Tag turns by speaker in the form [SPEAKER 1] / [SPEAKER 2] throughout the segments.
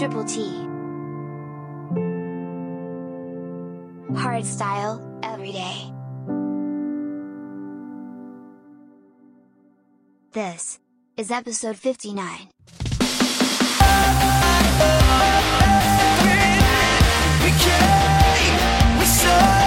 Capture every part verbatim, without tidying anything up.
[SPEAKER 1] Triple T. Hardstyle, every day. This is episode fifty-nine.
[SPEAKER 2] We came, we saw.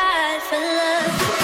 [SPEAKER 3] fight for love.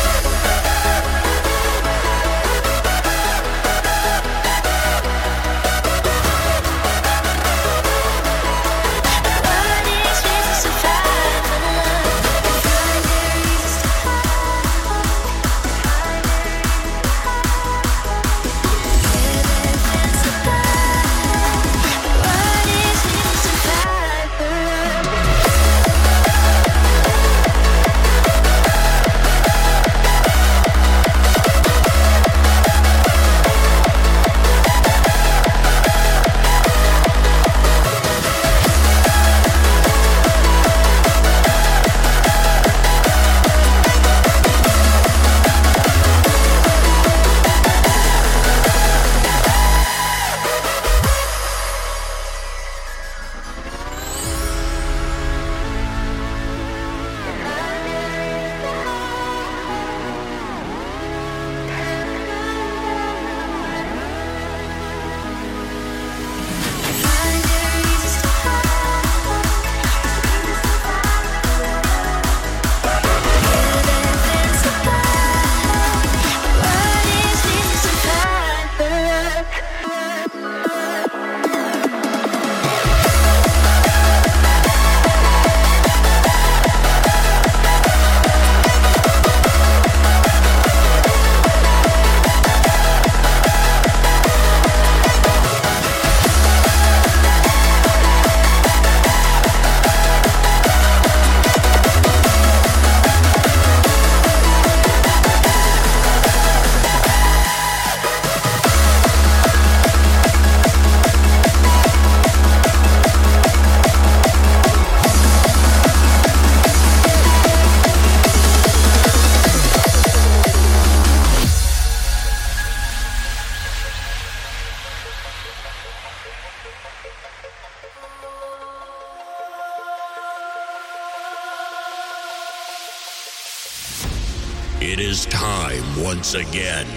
[SPEAKER 4] It is time once again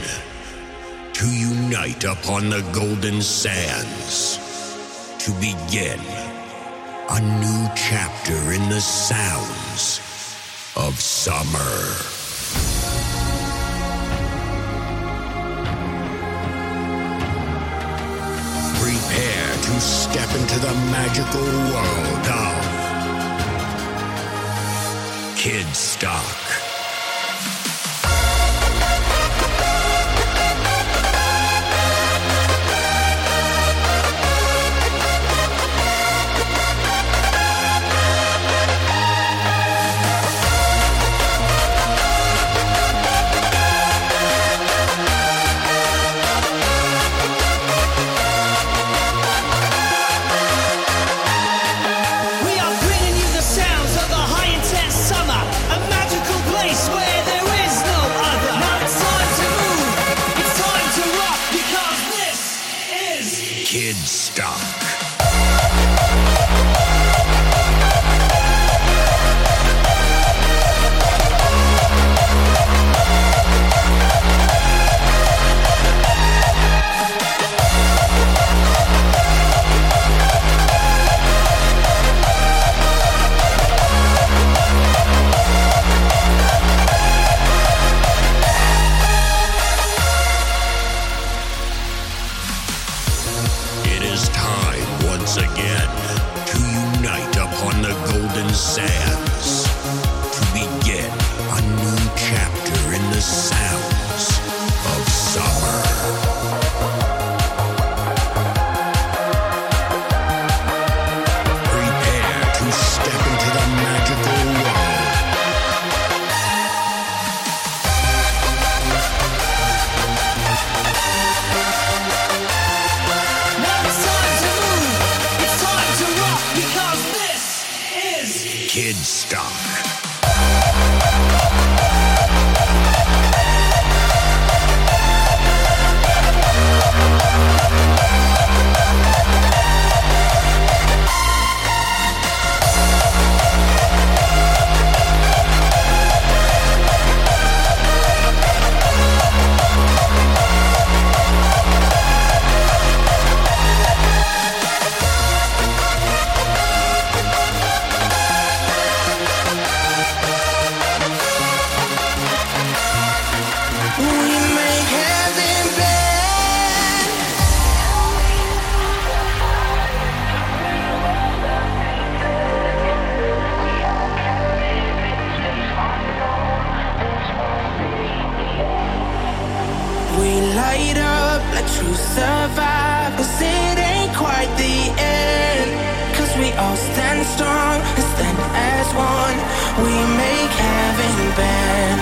[SPEAKER 4] to unite upon the golden sands, to begin a new chapter in the sounds of summer. Prepare to step into the magical world of Kidstock. Kidstock. It is time once again to unite upon the golden sands, to begin a new chapter in the sounds of summer. Prepare to step into the magical world.
[SPEAKER 2] Now it's time to move, it's time to rock, because this is
[SPEAKER 4] Kidstock.
[SPEAKER 3] true survivors. It ain't quite the end, 'cause we all stand strong and stand as one. We make heaven bend.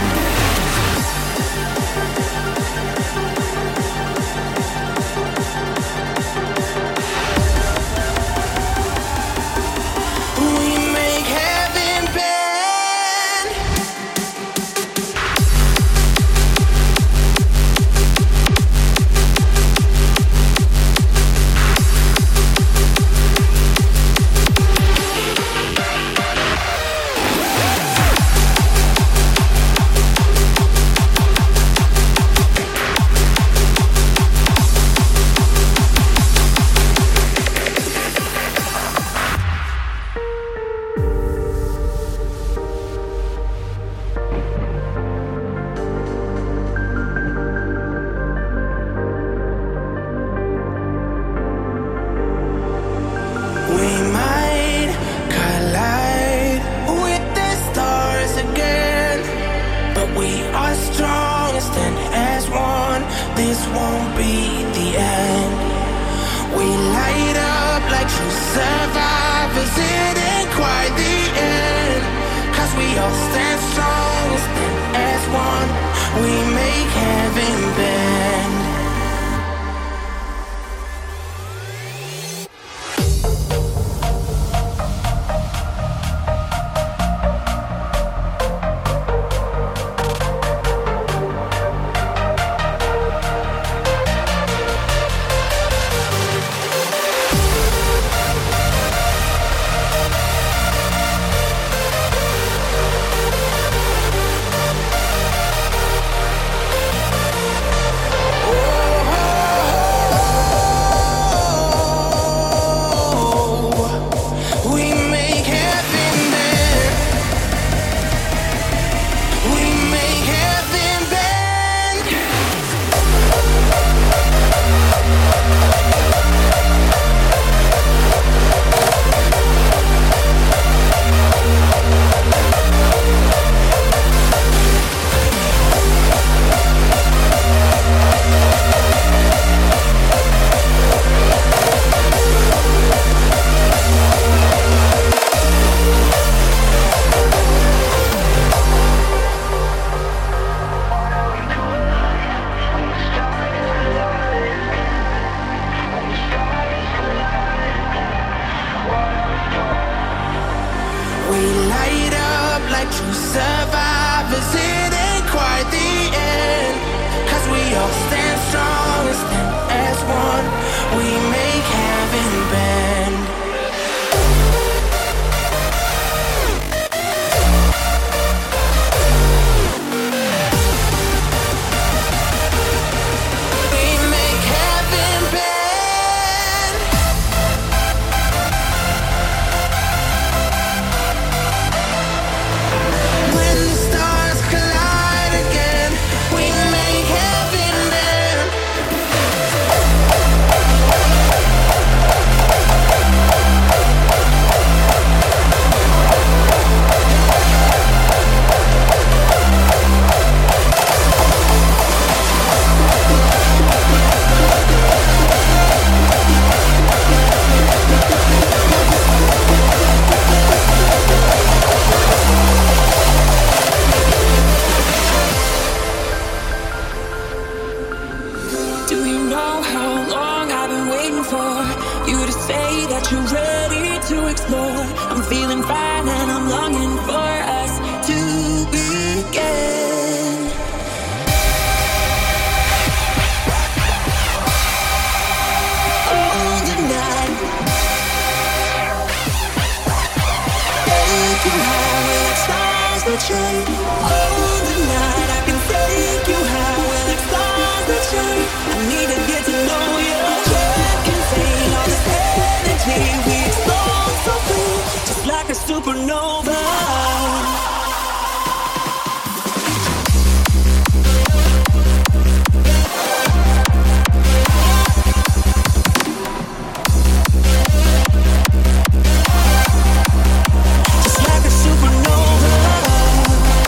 [SPEAKER 2] Just like a supernova.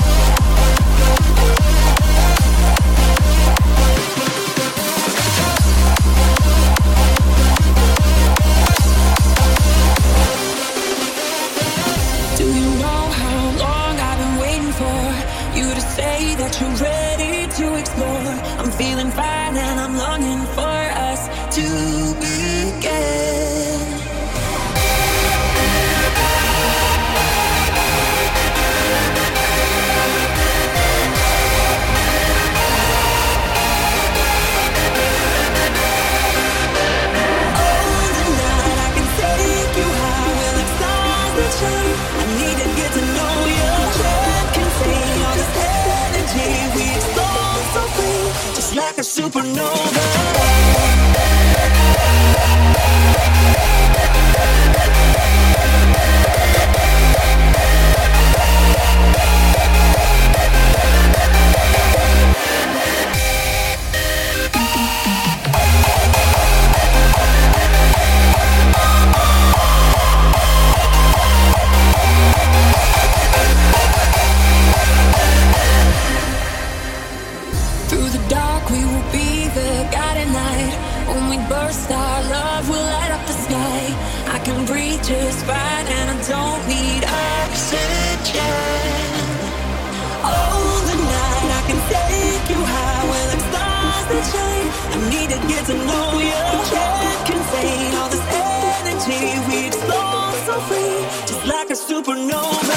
[SPEAKER 5] you to say that you're ready to explore. I'm feeling fine and I'm longing for us to begin. I need to get to know you. Can't contain all this energy. We explode so free, just like a supernova. Burst, our love will light up the sky. I can breathe just fine and I don't need oxygen. Oh, the night I can take you high where like stars that shine. I need to get to know you. Can't contain all this energy. We explode so free, just like a supernova.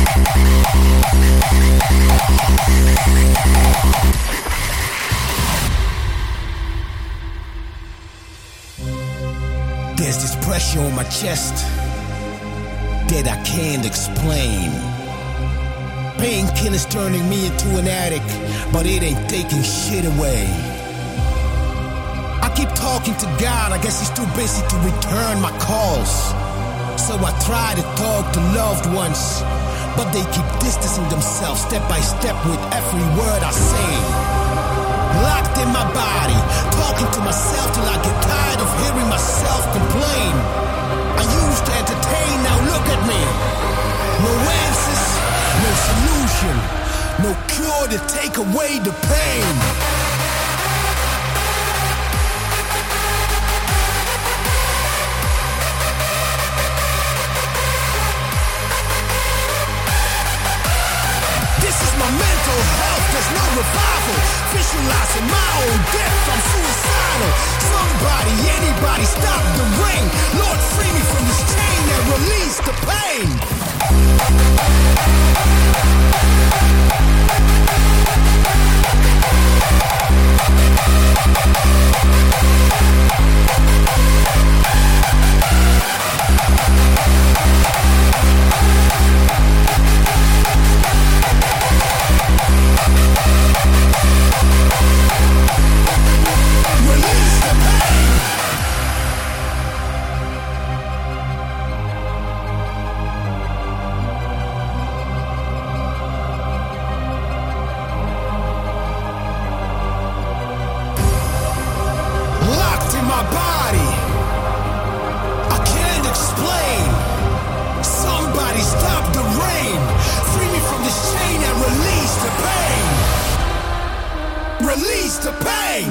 [SPEAKER 6] There's this pressure on my chest that I can't explain. Painkillers turning me into an addict, but it ain't taking shit away. I keep talking to God, I guess he's too busy to return my calls. So I try to talk to loved ones, but they keep distancing themselves step by step with every word I say. Locked in my body, talking to myself till I get tired of hearing myself complain. I used to entertain, now look at me. No answers, no solution, no cure to take away the pain. This is my mental health, there's no revival. Visualizing my own death, I'm suicidal. Somebody, anybody, stop the rain. Lord, free me from this chain and release the pain. Release the pain. Locked in my body, I can't explain. Somebody stop the rain. Free me from this chain and release the pain. Release the pain.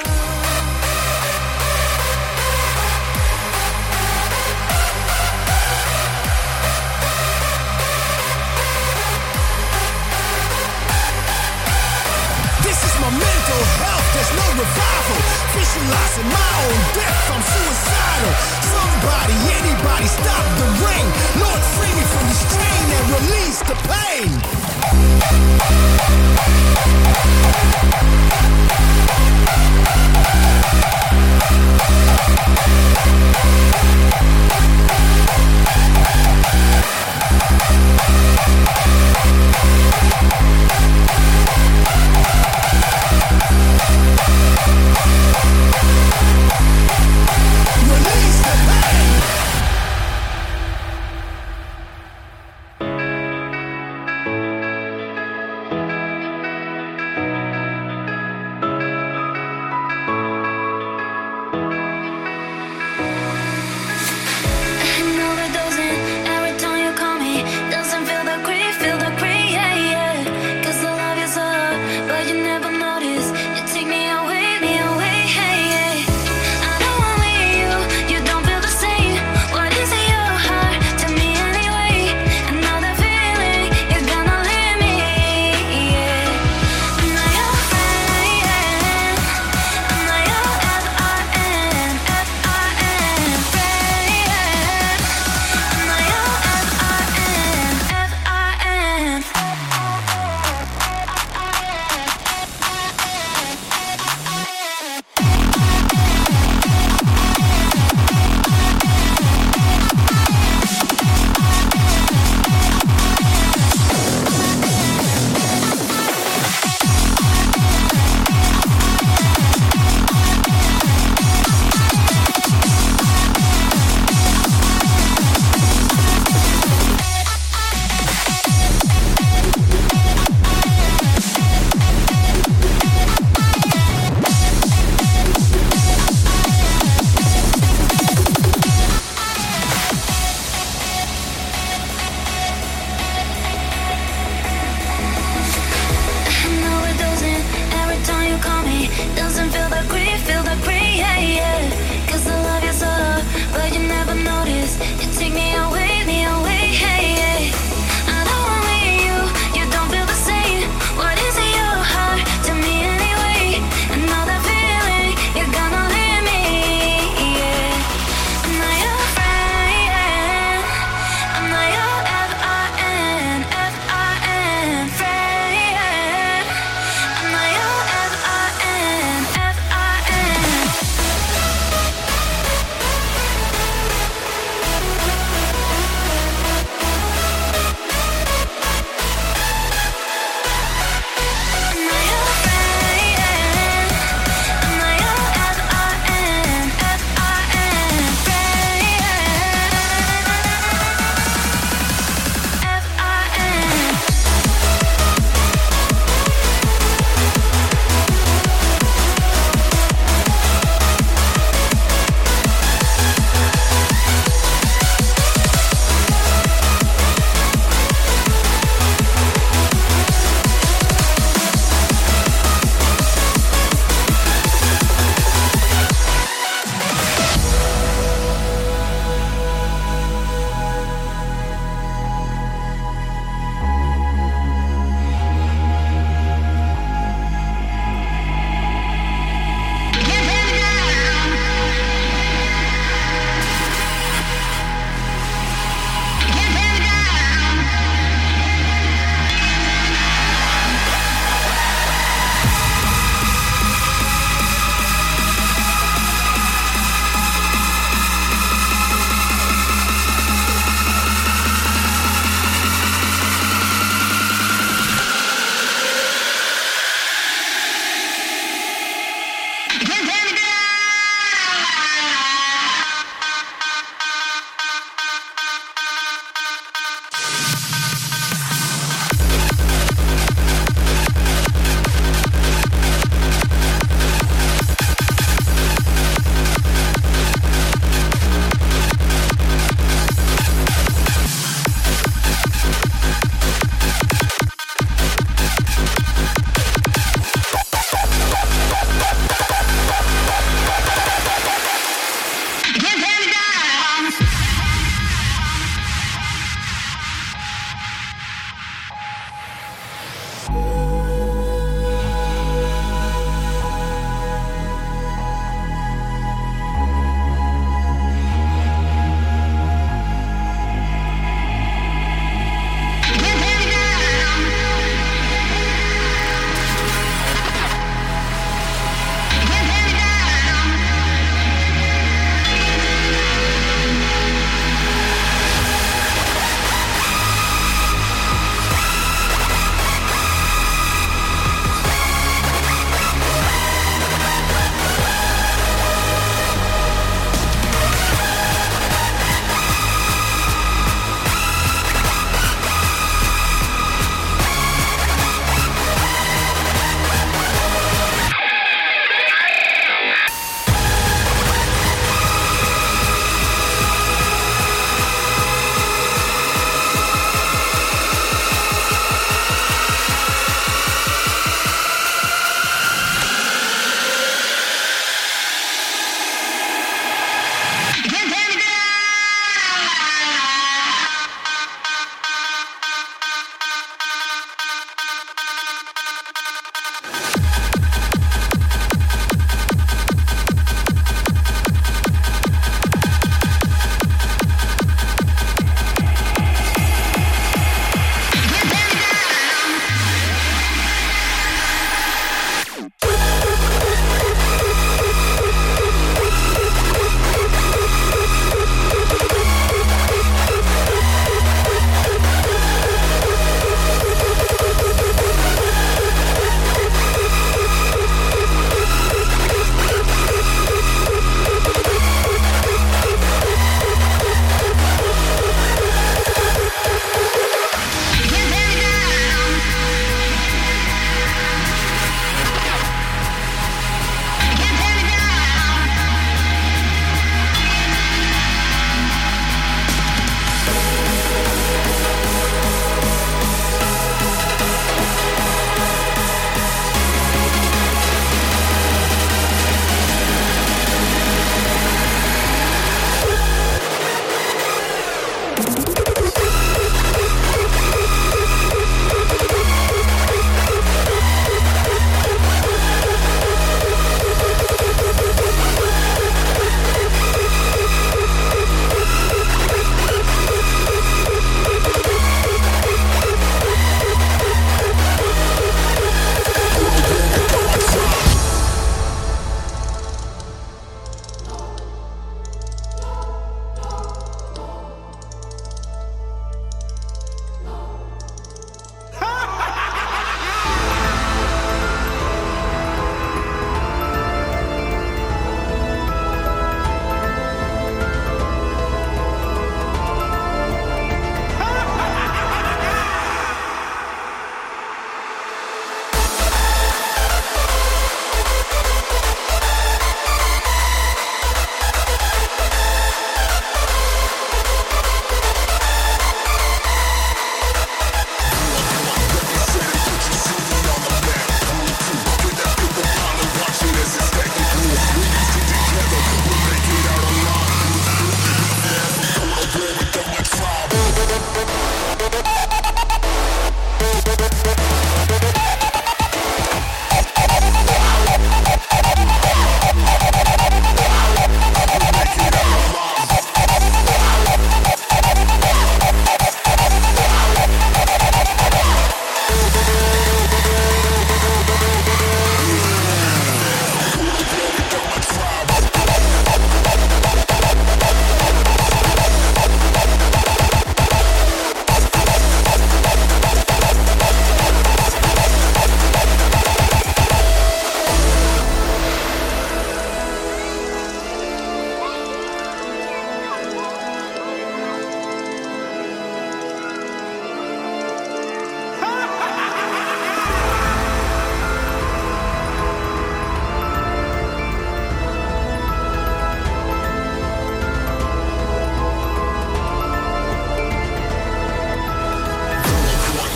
[SPEAKER 6] This is my mental health, there's no revival. Visualizing my own death, I'm suicidal. Somebody, anybody, stop the rain. Lord, free me from this chain and release the pain. Release the pain.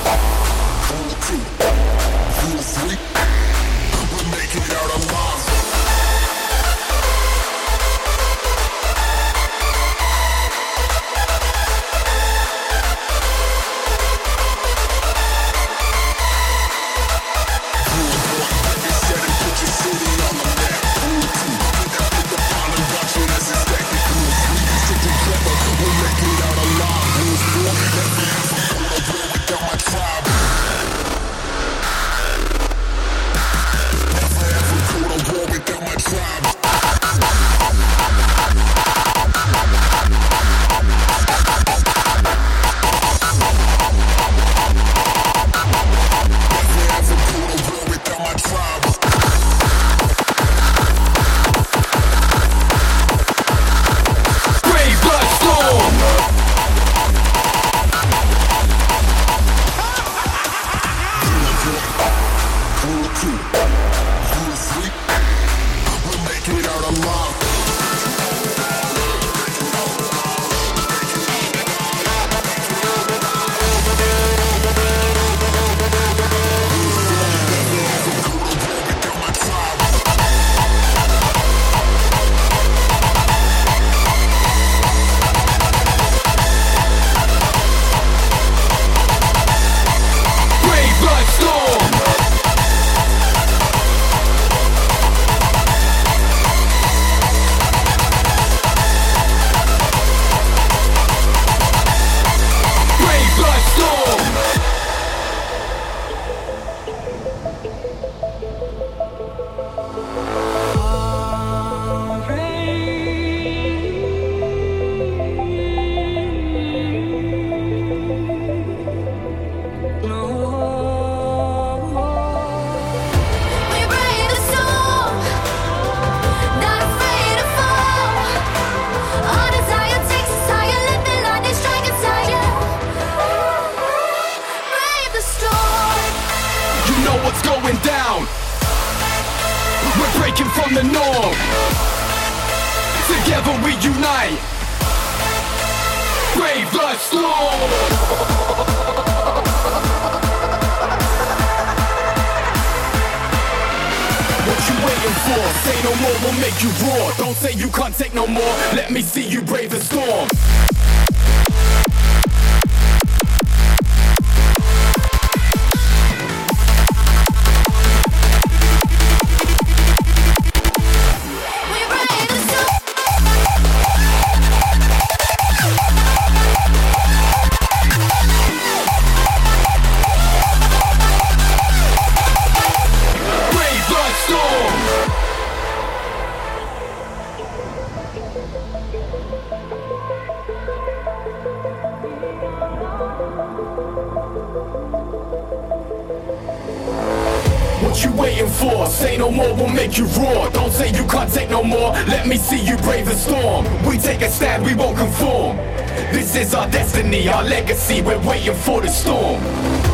[SPEAKER 7] What you waiting for? Say no more, we'll make you roar. Don't say you can't take no more. Let me see you brave the storm. We take a stand, we won't conform. This is our destiny, our legacy. We're waiting for the storm.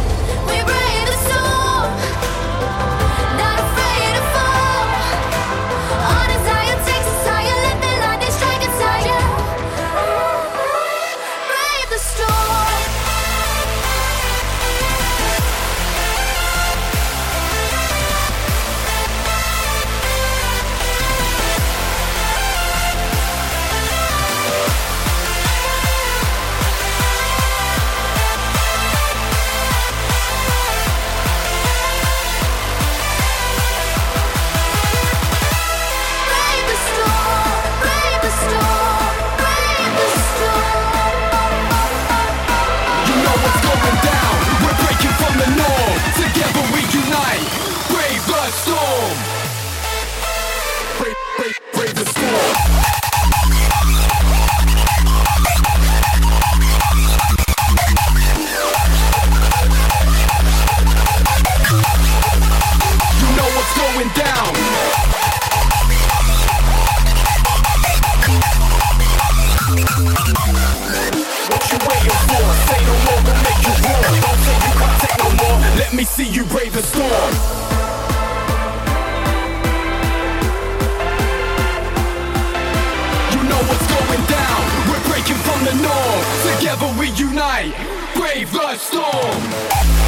[SPEAKER 8] We brave the storm, not afraid to fall. On desire takes us higher. Let the lightning strike us higher. Brave the storm.
[SPEAKER 7] Together we unite. Brave the storm. Brave, brave, brave the storm. You know what's going down. What you waiting for? Say no more, we'll make you roar. Don't say you can't take no more. Let me see you brave the storm. You know what's going down. We're breaking from the norm. Together we unite. Brave the storm.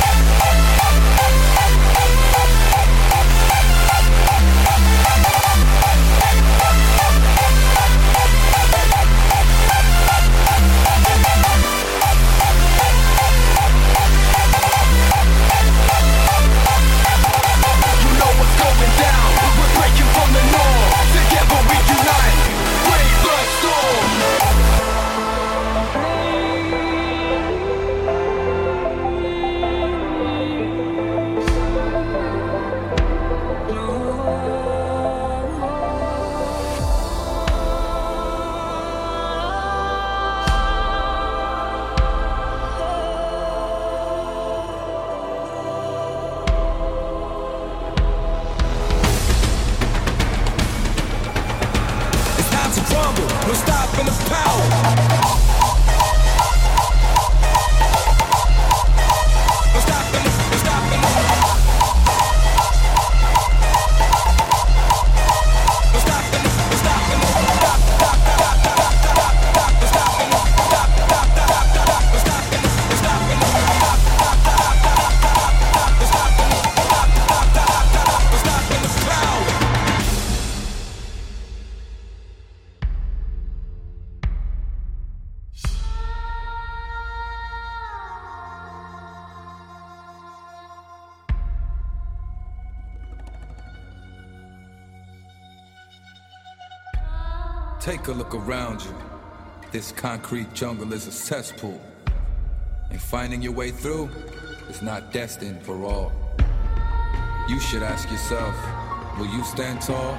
[SPEAKER 9] Take a look around you. This concrete jungle is a cesspool. And finding your way through is not destined for all. You should ask yourself, will you stand tall?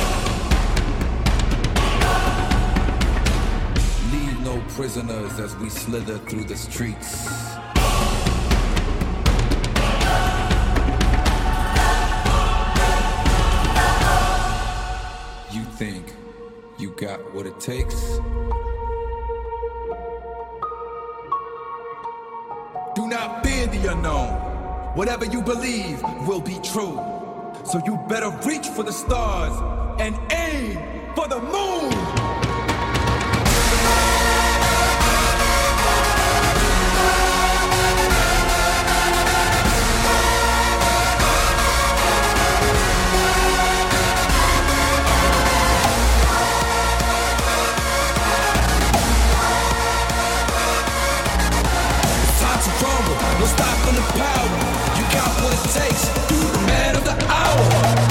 [SPEAKER 9] Leave no prisoners as we slither through the streets. You think you got what it takes? Do not fear the unknown. Whatever you believe will be true. So you better reach for the stars and aim for the moon. No stopping the power. You got what it takes. You the man of the hour.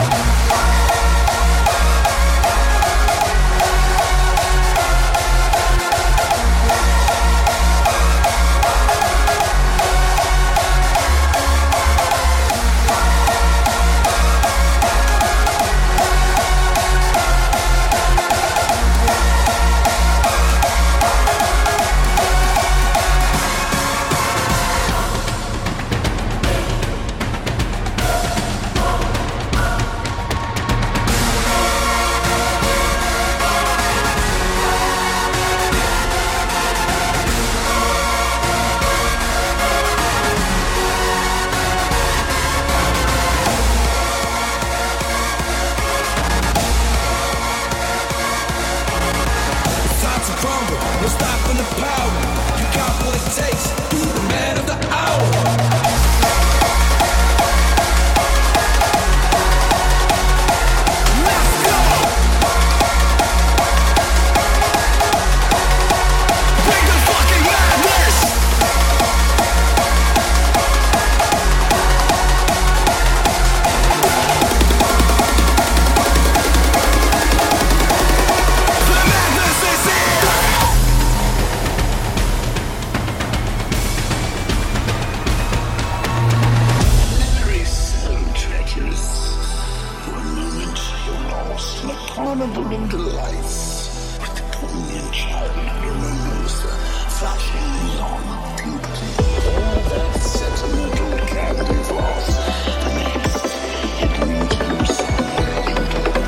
[SPEAKER 9] No stopping the power. You got what it takes. You the man of the hour. Let's go. Bring the fucking madness. The madness is here.
[SPEAKER 10] Carnival of delights with the poignant childhood remembers the flashing neon of puberty. All that sentimental candy floss. The next, it leads you somewhere into the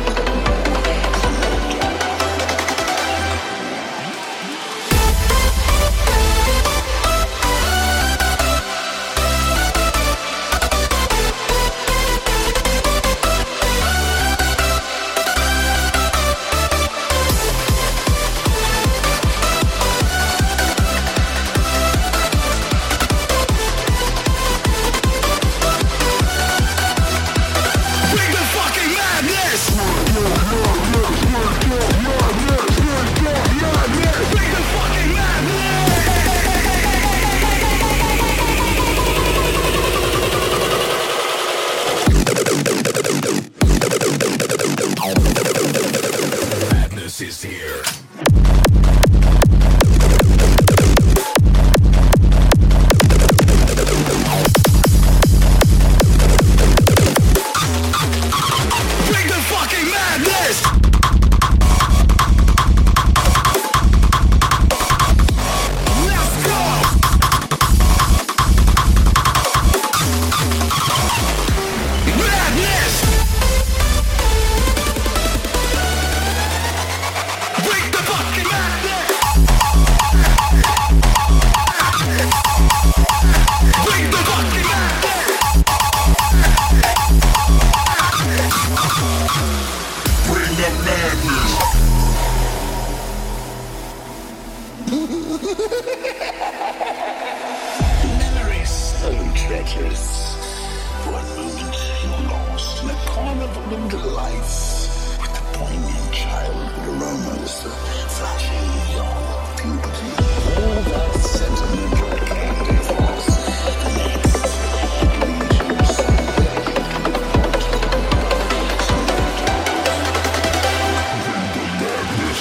[SPEAKER 4] is here.
[SPEAKER 2] Bring the fucking madness! Let's go! Madness! Bring the fucking madness! Bring the fucking madness!
[SPEAKER 10] Bring the madness. Memories so treacherous. For a moment you're lost in a carnival of delights with the poignant childhood aromas, the flashing neon of puberty. All that sentimental candy floss. The next, it leads you somewhere into the heart. Bring the madness.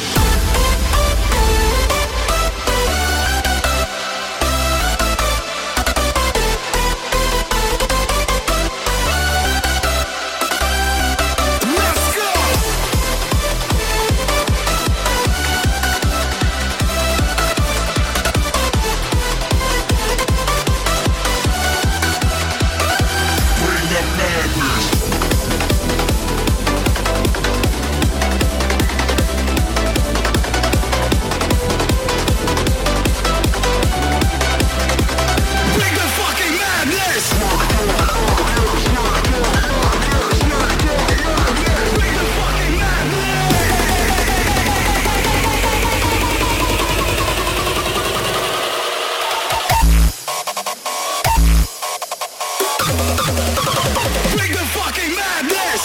[SPEAKER 2] Bring the fucking madness!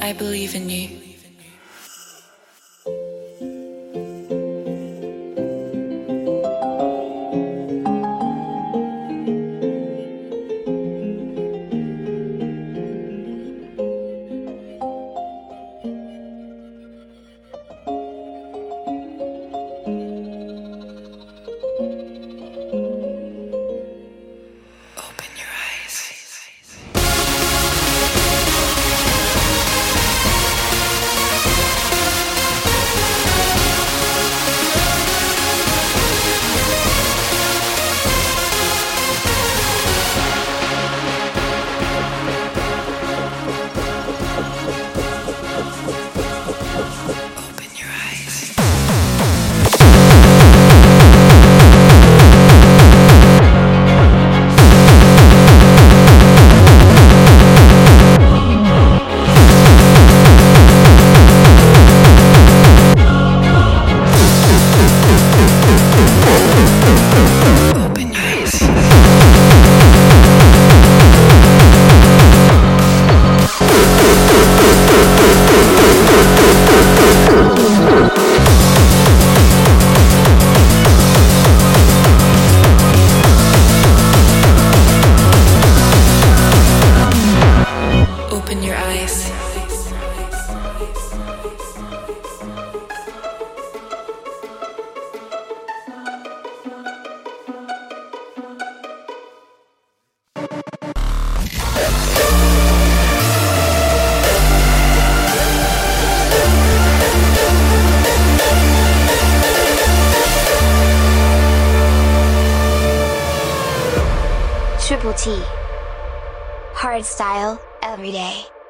[SPEAKER 5] I believe in you.
[SPEAKER 1] Triple T. Hard style, every day.